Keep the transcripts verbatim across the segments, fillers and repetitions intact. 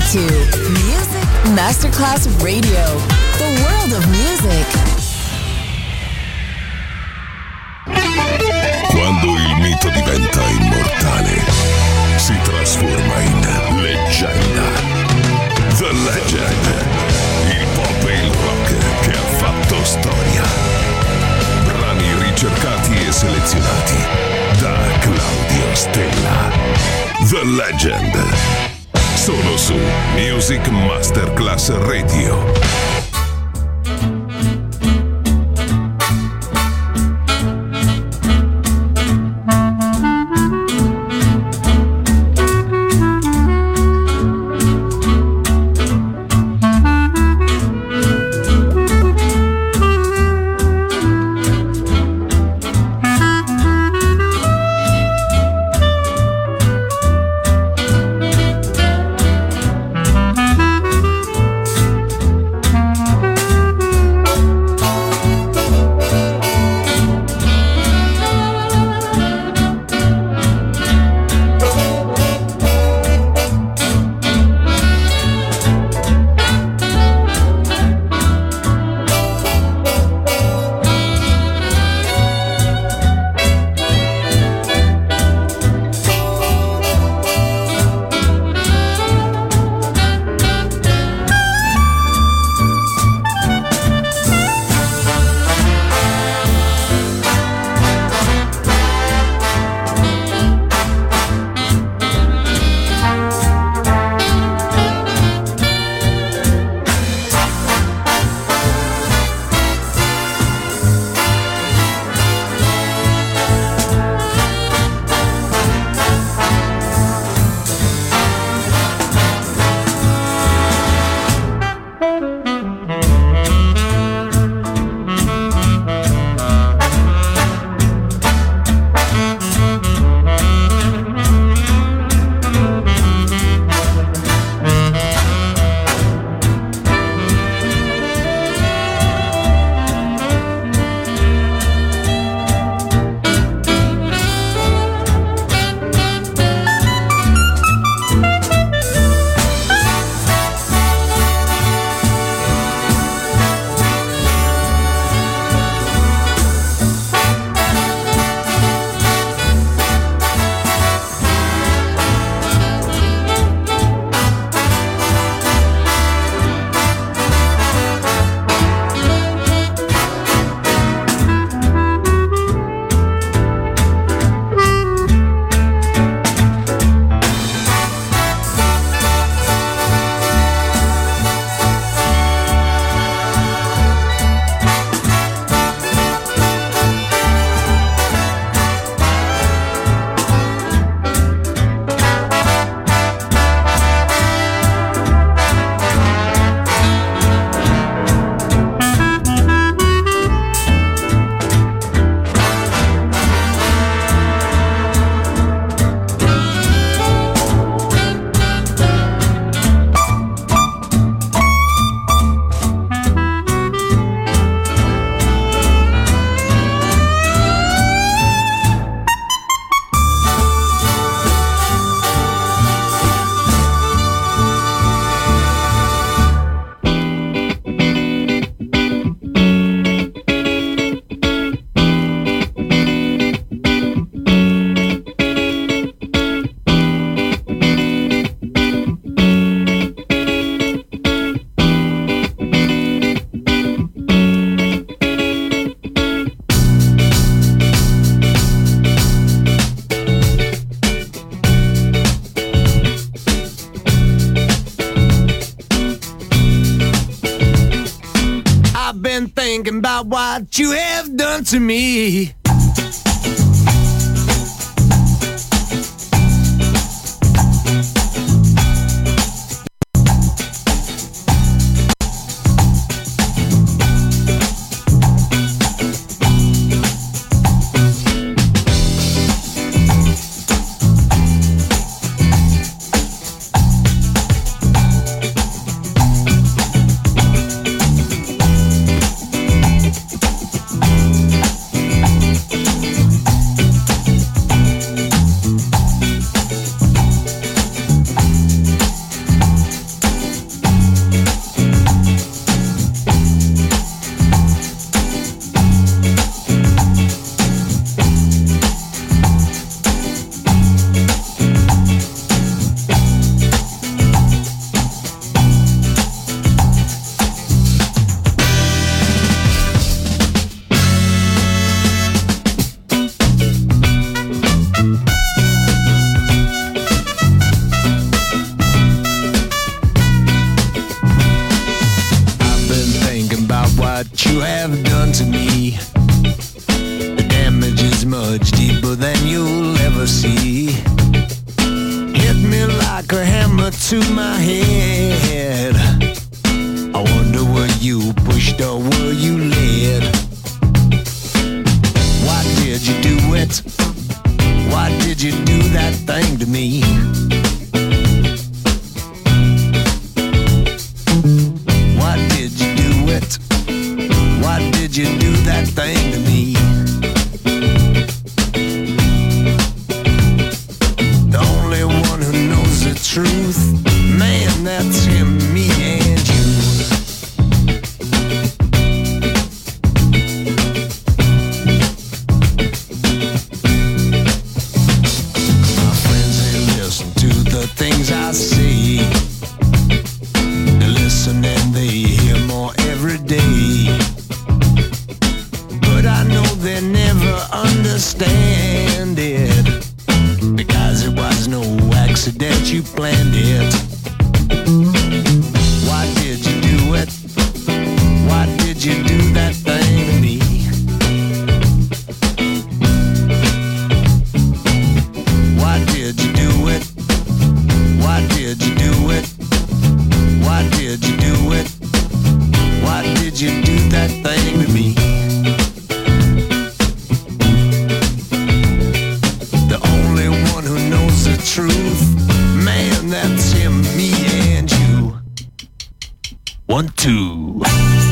to Music Masterclass Radio, the world of music. Quando il mito diventa immortale, si trasforma in leggenda. The Legend, il pop e il rock che ha fatto storia. Brani ricercati e selezionati da Claudio Stella. The Legend, solo su Music Masterclass Radio. Thinking about what you have done to me. done to me. The damage is much deeper than you'll ever see. Hit me like a hammer to my head. I wonder were you pushed or were you led? Why did you do it? Why did you do that thing to me? Why did you do it? Why did you do that thing to me? The only one who knows the truth, man, that's him, me and you. My friends, they listen to the things I say. They listen and they hear more every day. But I know they never understand it, because it was no accident, you planned it. Why did you do it? Why did you do that thing to me? Why did you do it? Why did you do it? Why did you do it? Why did you do that thing to me? The only one who knows the truth, man, that's him, me and you. One, two.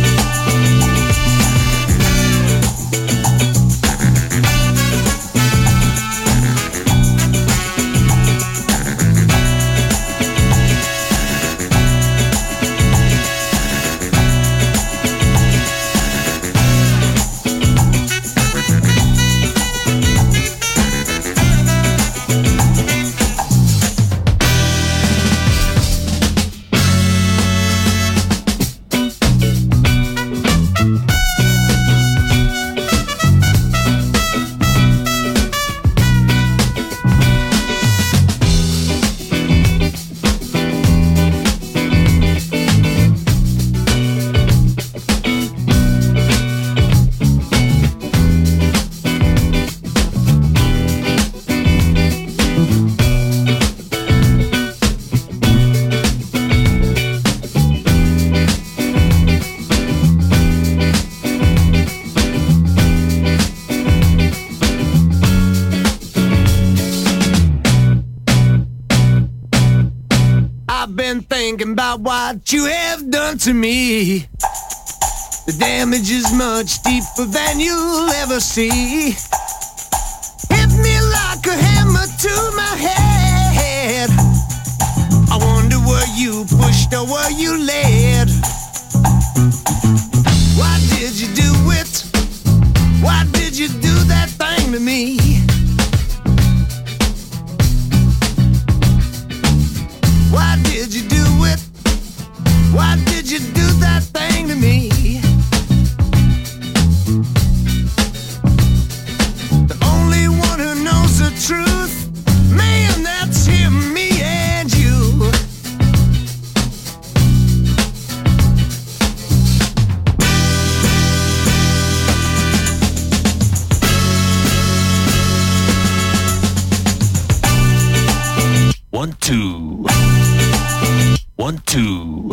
Thinking about what you have done to me. The damage is much deeper than you'll ever see. Hit me like a hammer to my head. I wonder were you pushed or were you led? Why did you do it? Why did you do that thing to me? Why did you do it? Why did you do that thing to me? The only one who knows the truth, man, that's him, me and you. One, two. One, two.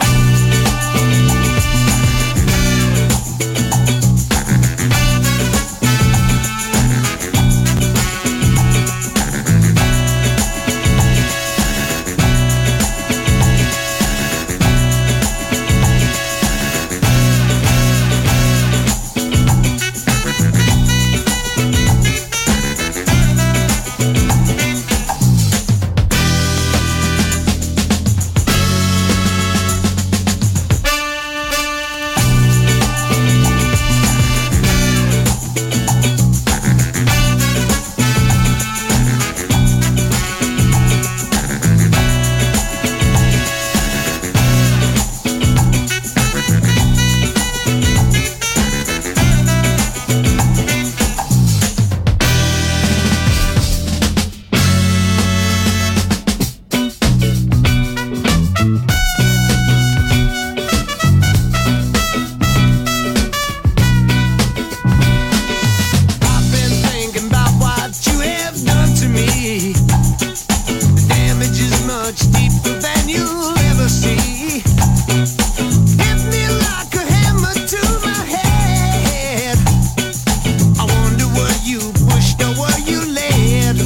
you'll ever see. Hit me like a hammer to my head. I wonder what you pushed or what you led.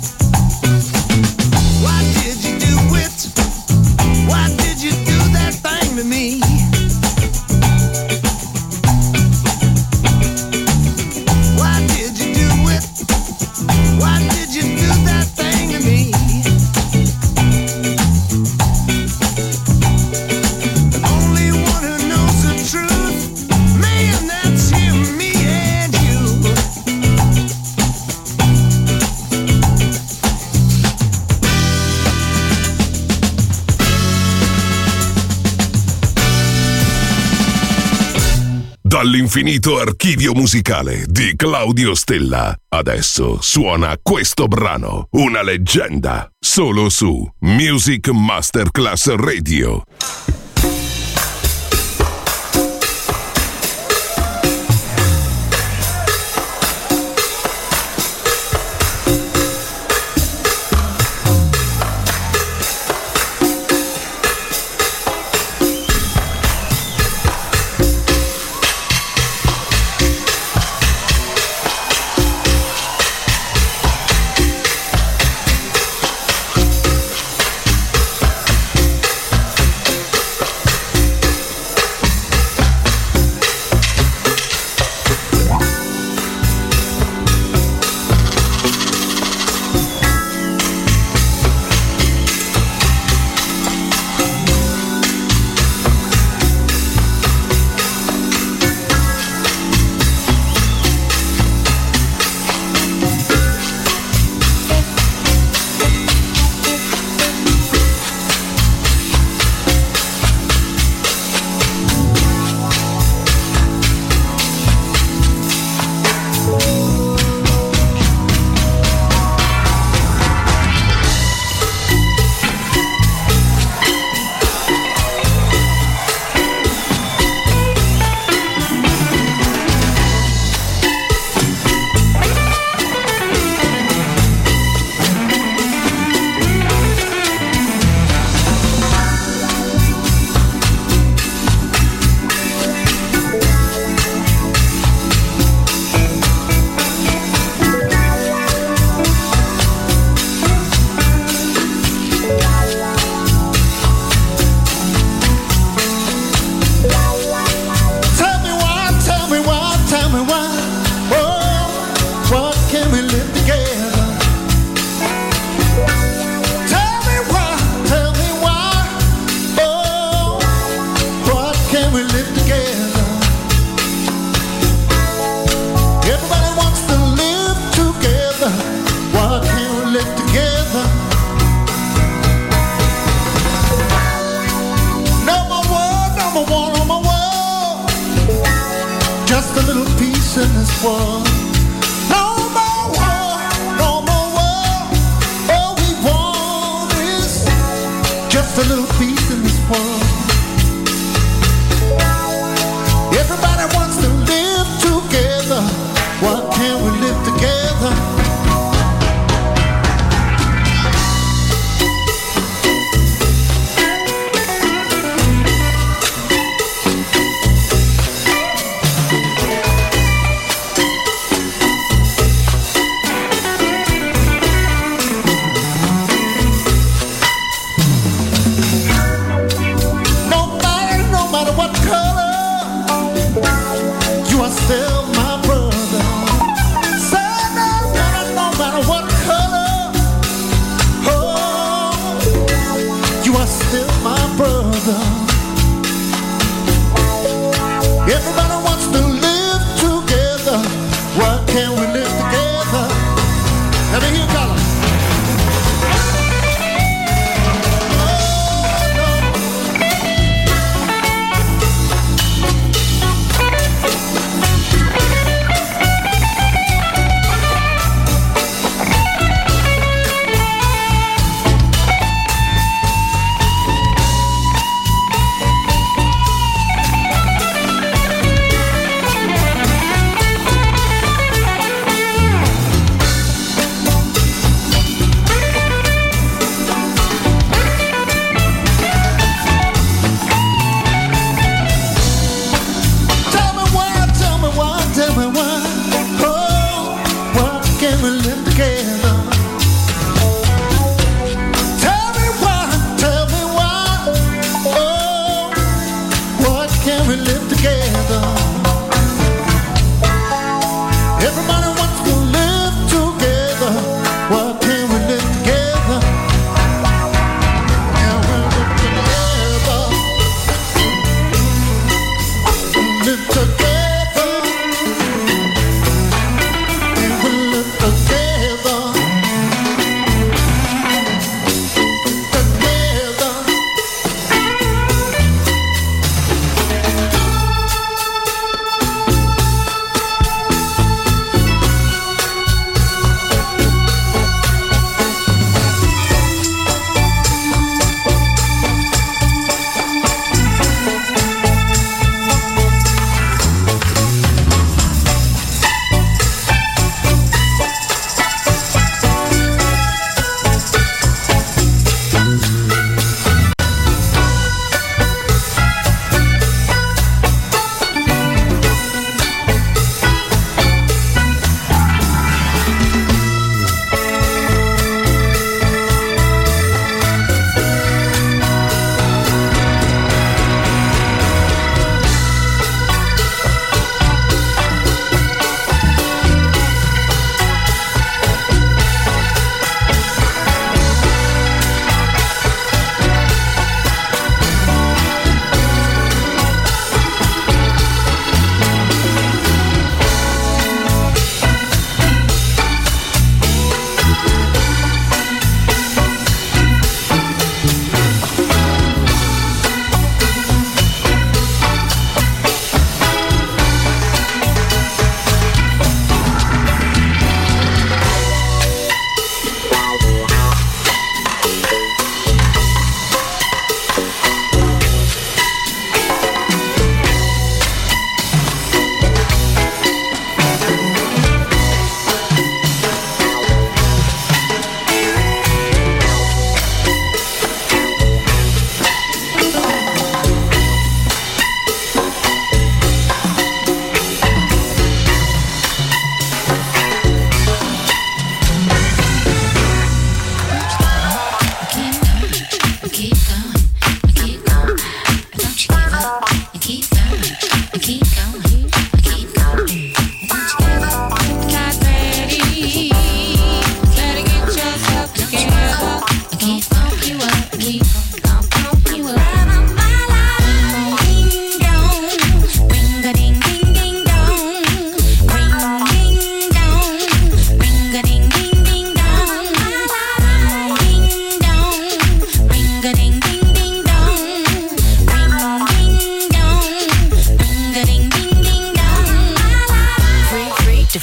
Why did you do it? Why did you do that thing to me? Why did you do it? Why did you do that thing to me? The only one who knows the truth, man, that's him, me and you. Dall'infinito archivio musicale di Claudio Stella. Adesso suona questo brano, una leggenda, solo su Music Masterclass Radio.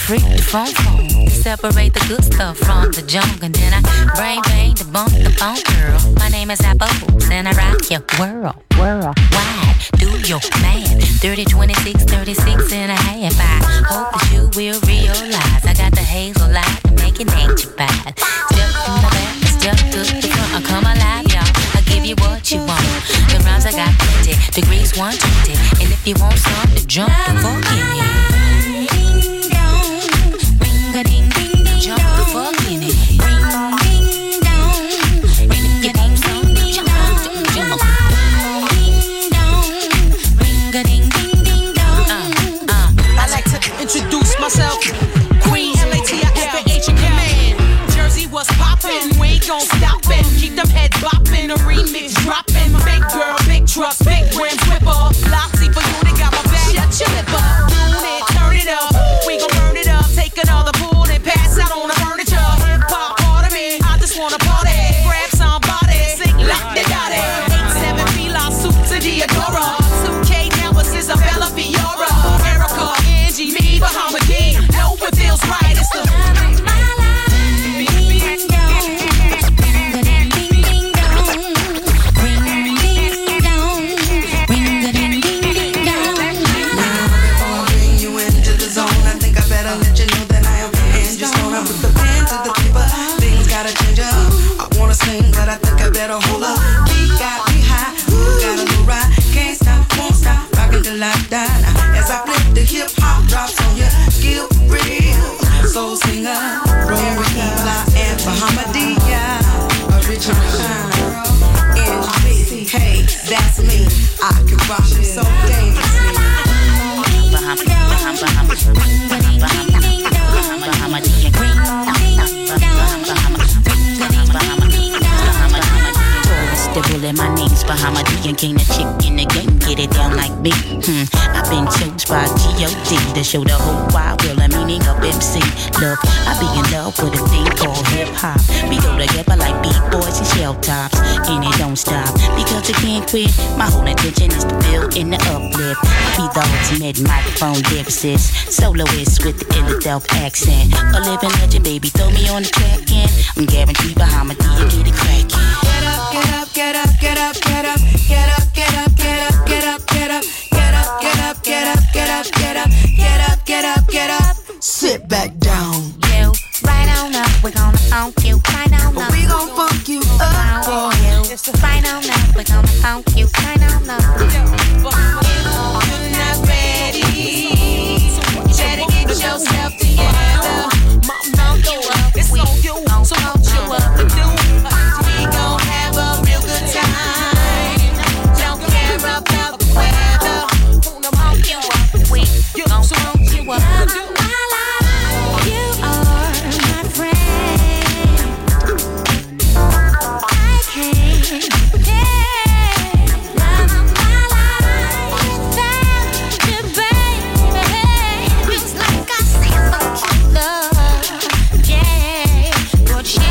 freak the phone phone. Separate the good stuff from the junk, and then I brain bang to bump the phone girl. My name is Apples, and I rock your world, world wide. Do your math, thirty, twenty-six, thirty-six and a half. I hope that you will realize I got the hazel light to make it ain't you bad. Step in the back, step to the front, I come alive, y'all. I give you what you want. The rhymes I got plenty, degrees one twenty, and if you want some to jump the fuck in it. Ring-a-ding, ding, ding, jump the fuck in it. Ring-ding, dong. And if you want some to jump, jump. Ring-a-ding, ding, ding, dong. Uh, uh. I like to introduce myself. Queen L A T I F A H in command. Jersey was poppin', we ain't gon' stop it. Keep them heads boppin', the remix droppin'. Big girl, big trucks, big rims, whipper. Loxy for you, they got my back. Shut your lip up, tune it, turn it up. We gon' burn it up, take another pull and pass out on the furniture. Hip hop part of me, I just wanna party. Grab somebody, sing like they got it. eight seven Fila, suit to Diodora. two K now it's Isabella Fiora. Erica, Angie, me, Bahamadia. Know it feels right, it's the but I think I better hold up. We got me high, we got a little ride. Can't stop, won't stop, rockin' till I die. As I flip the hip hop drops on you, skill real. Soul singer, Rory Fly and Bahamadia. Original N B, hey, that's me. I can rock it so dangerously. Bahamadia, the bullet, my name's Bahamadia, king the chick in the game, get it down like me. Hmm, I've been chose by G O D to show the whole wide world the meaning of M C. Look, I be in love with a thing called hip hop. We go together like beat boys and shell tops, and it don't stop because I can't quit. My whole intention is to build in the uplift. I be the ultimate microphone lyricist, soloist with the Philadelphia accent. A living legend, baby, throw me on the track and I'm guaranteed Bahamadia get it crackin'. Get up, get up. Get up, get up, get up, get up, get up, get up, get up, get up, get up, get up, get up, get up, get up, get up, get up, get up. Sit back down. You right on up, we're gonna funk you. Right on up, we gon' funk you up for you. Right on up, we're gonna funk you. Right on up. You're not ready. You better get yourself together. Funk you up, it's on you, so what you up to do? We gon' have a real good time. Don't care about the weather. Wanna funk you up, we gon' funk you up. You are my friend. I can't get my life without you, baby. Feels like I see some love, yeah. But she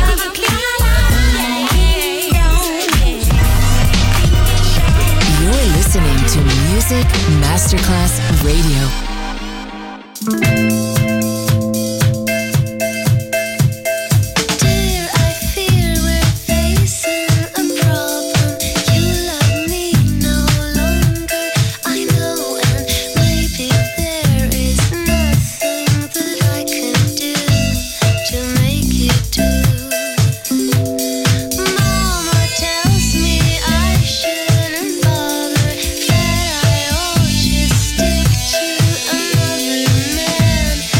You're listening to Music Masterclass Radio. Stick to another man.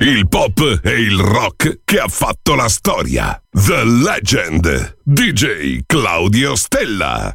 il pop e il rock che ha fatto la storia. The Legend, D J Claudio Stella.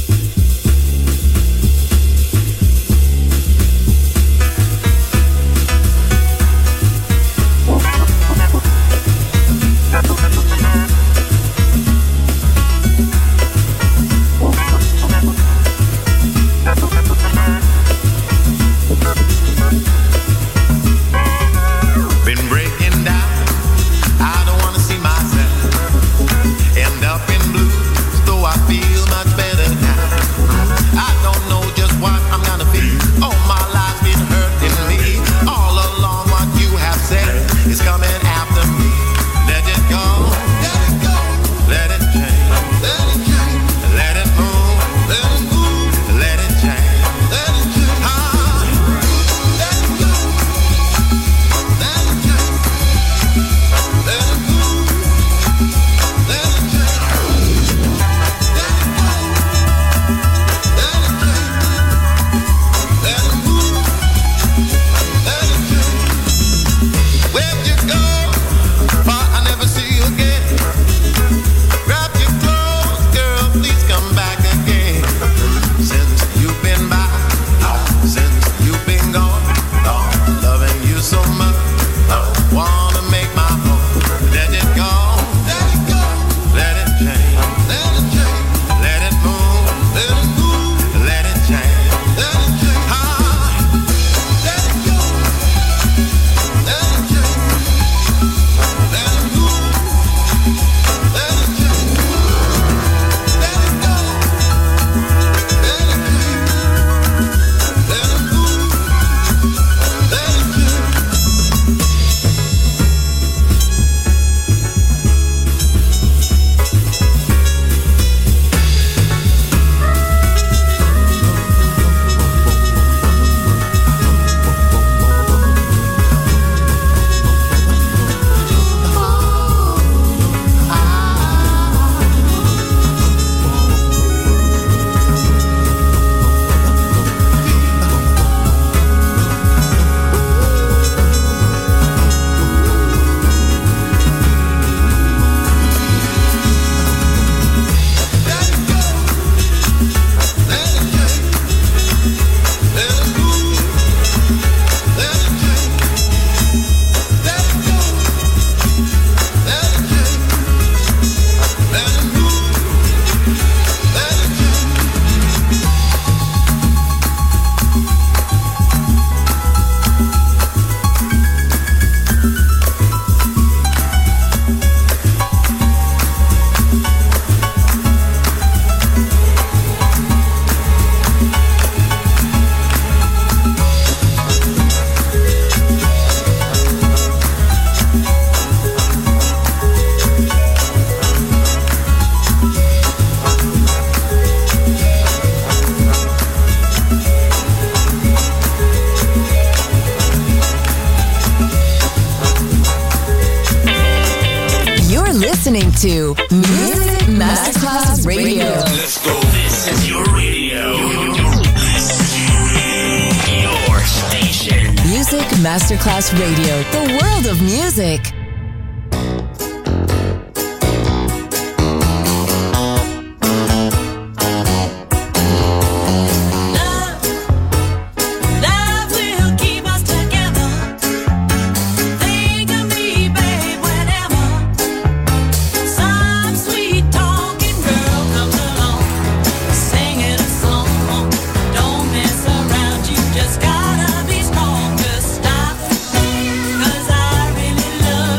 To Music Masterclass Radio. Let's go. This is your radio. Your station. Music Masterclass Radio. The world of music. Just gotta be strong to stop, 'cause I really love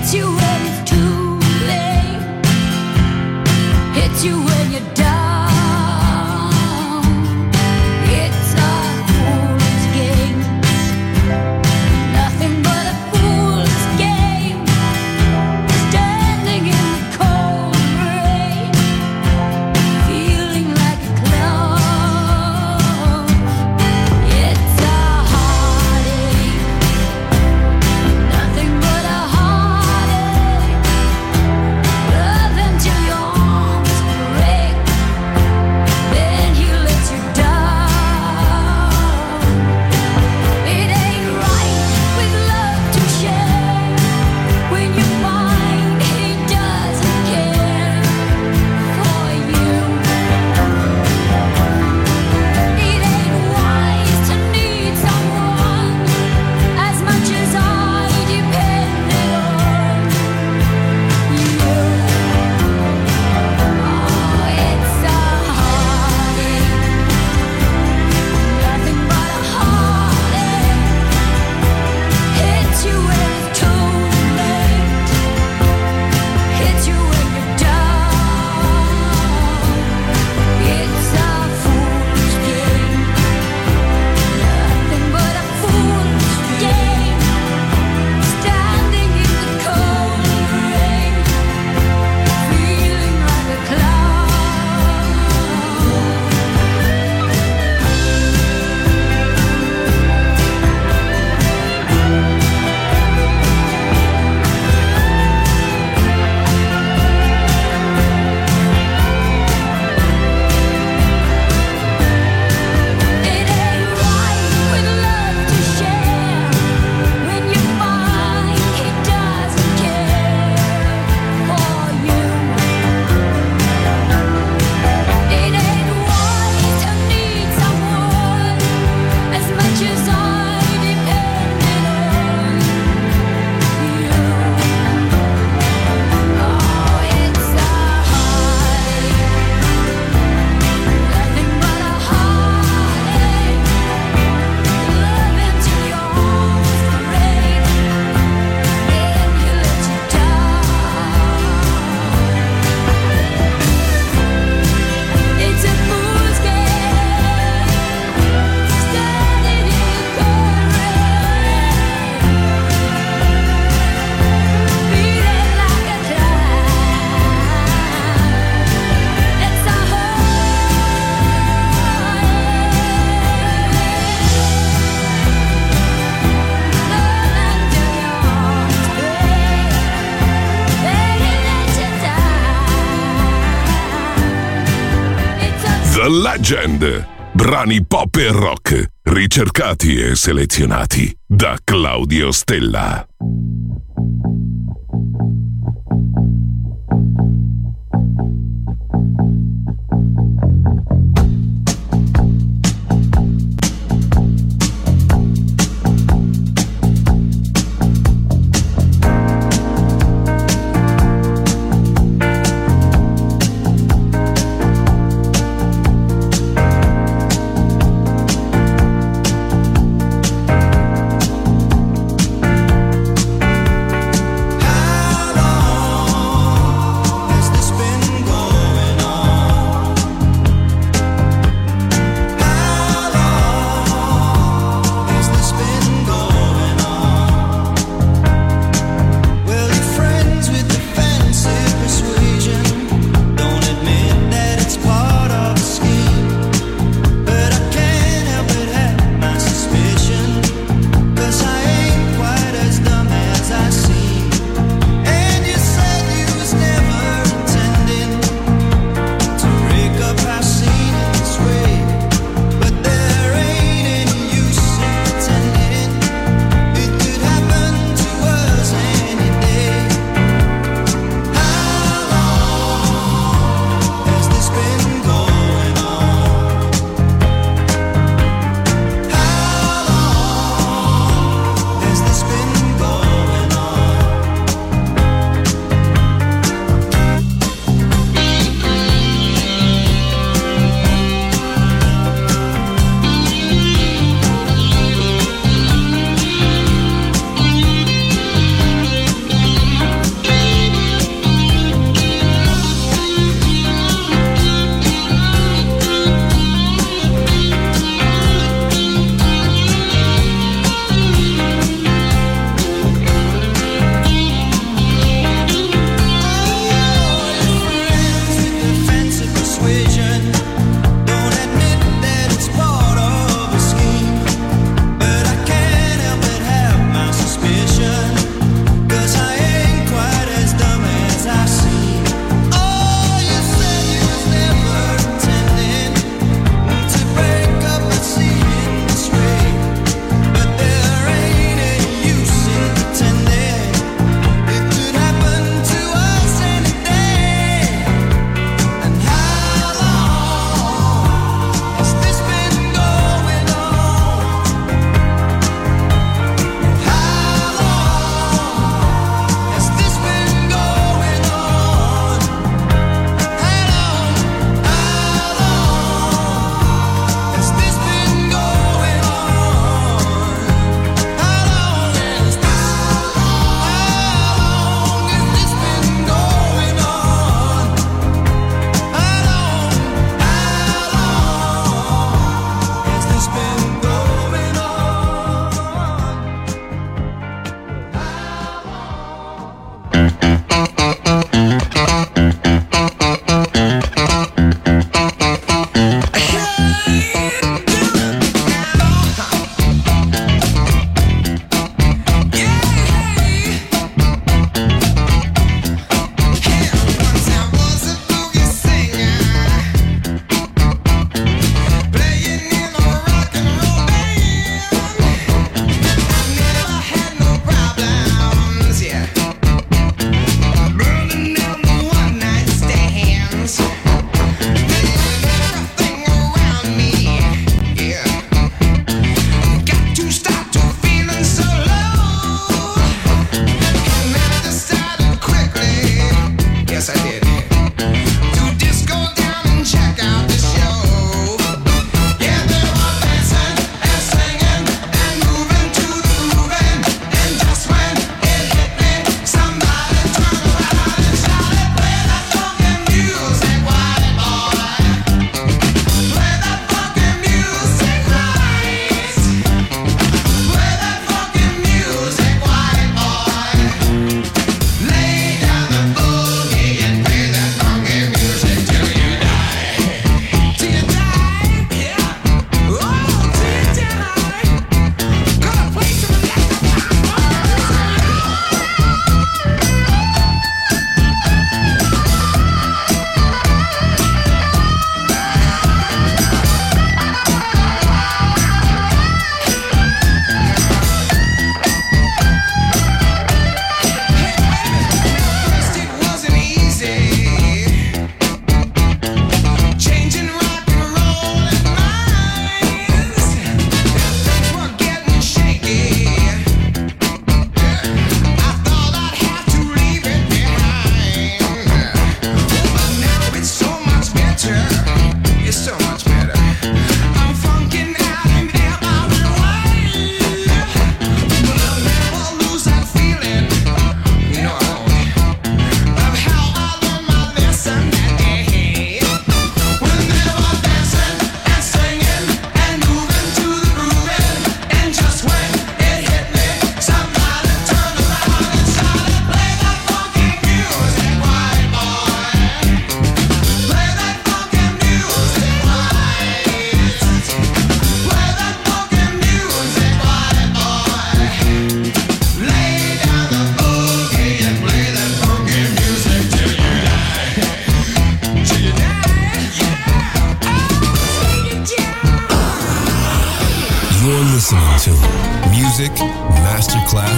The Legend. Brani pop e rock, ricercati e selezionati da Claudio Stella.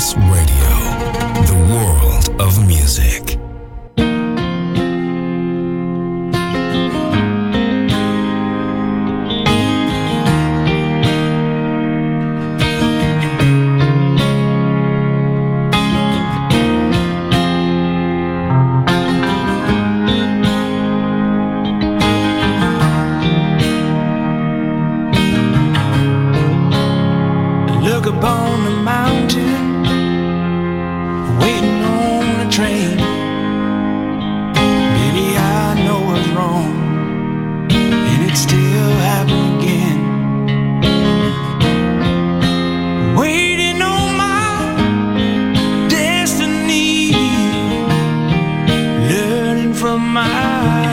Masterclass Radio, the world of music. Upon the mountain, waiting on a train. Baby, I know what's wrong, and it's still happening again. Waiting on my destiny, learning from my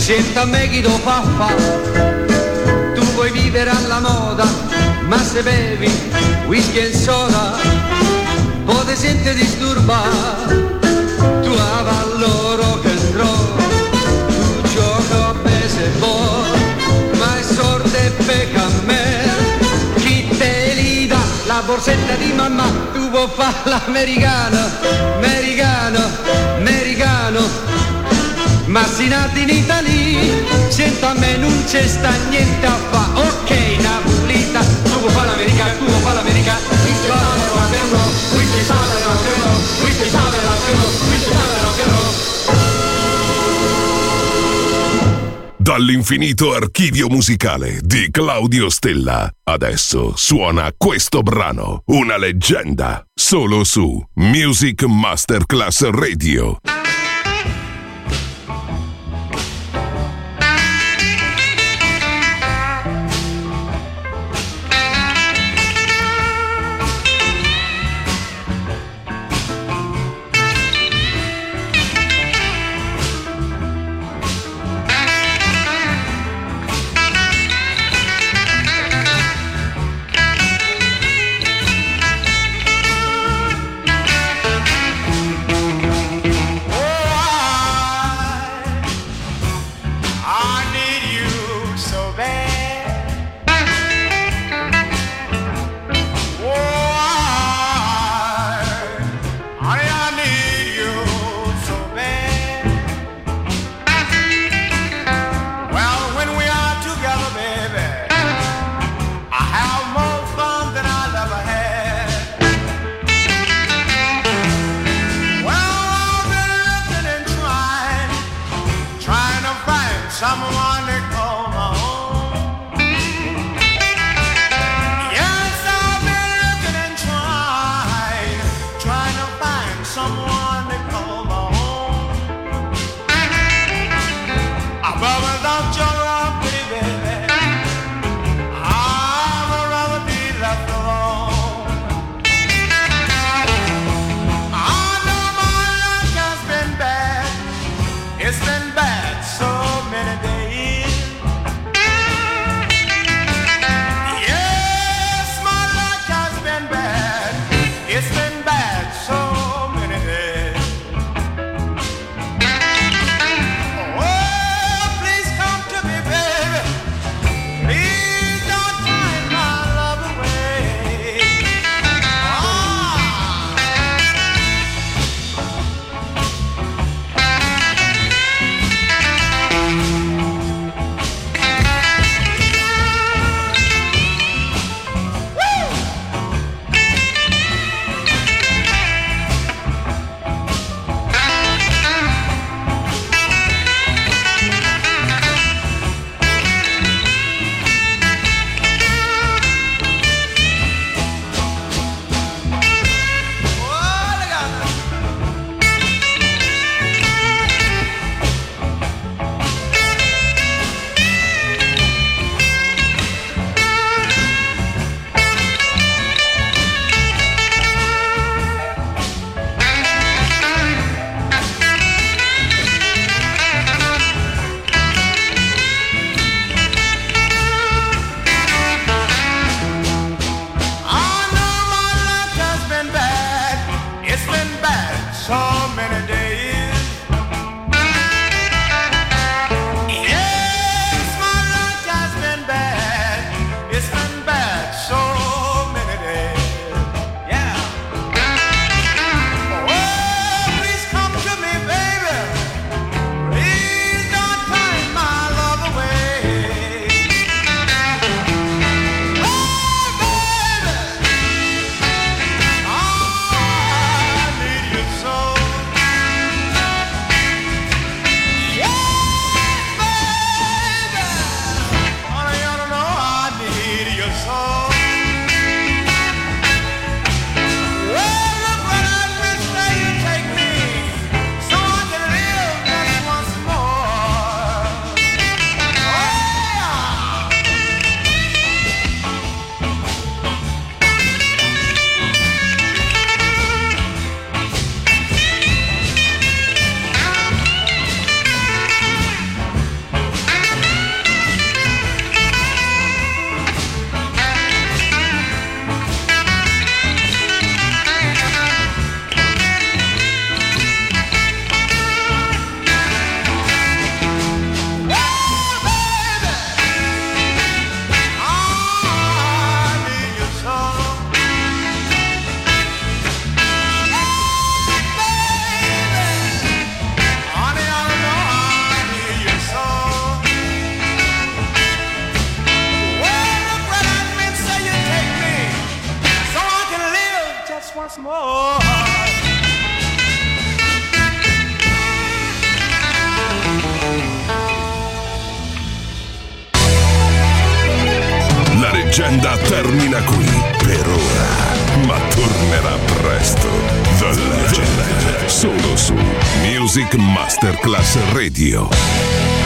Senta me chi lo fa fa, tu vuoi vivere alla moda, ma se bevi whisky e soda, poi ti senti disturbare, tu avallo rock and roll, tu gioca a baseball, ma è sorda e pecca a me, chi te li dà la borsetta di mamma, tu vuoi fare l'americano, americano, americano. Ma si nati in Italia, sento a me non c'è sta niente a fa. Ok, Napolita, tu vuoi fare l'America, tu vuoi fare l'America. Qui si fa la rock and roll, qui si fa la rock and roll, qui si fa la rock and roll, qui si fa la rock and roll. Dall'infinito archivio musicale di Claudio Stella, adesso suona questo brano, una leggenda, solo su Music Masterclass Radio. Oh, da qui per ora, ma tornerà presto. The Legend, solo su Music Masterclass Radio.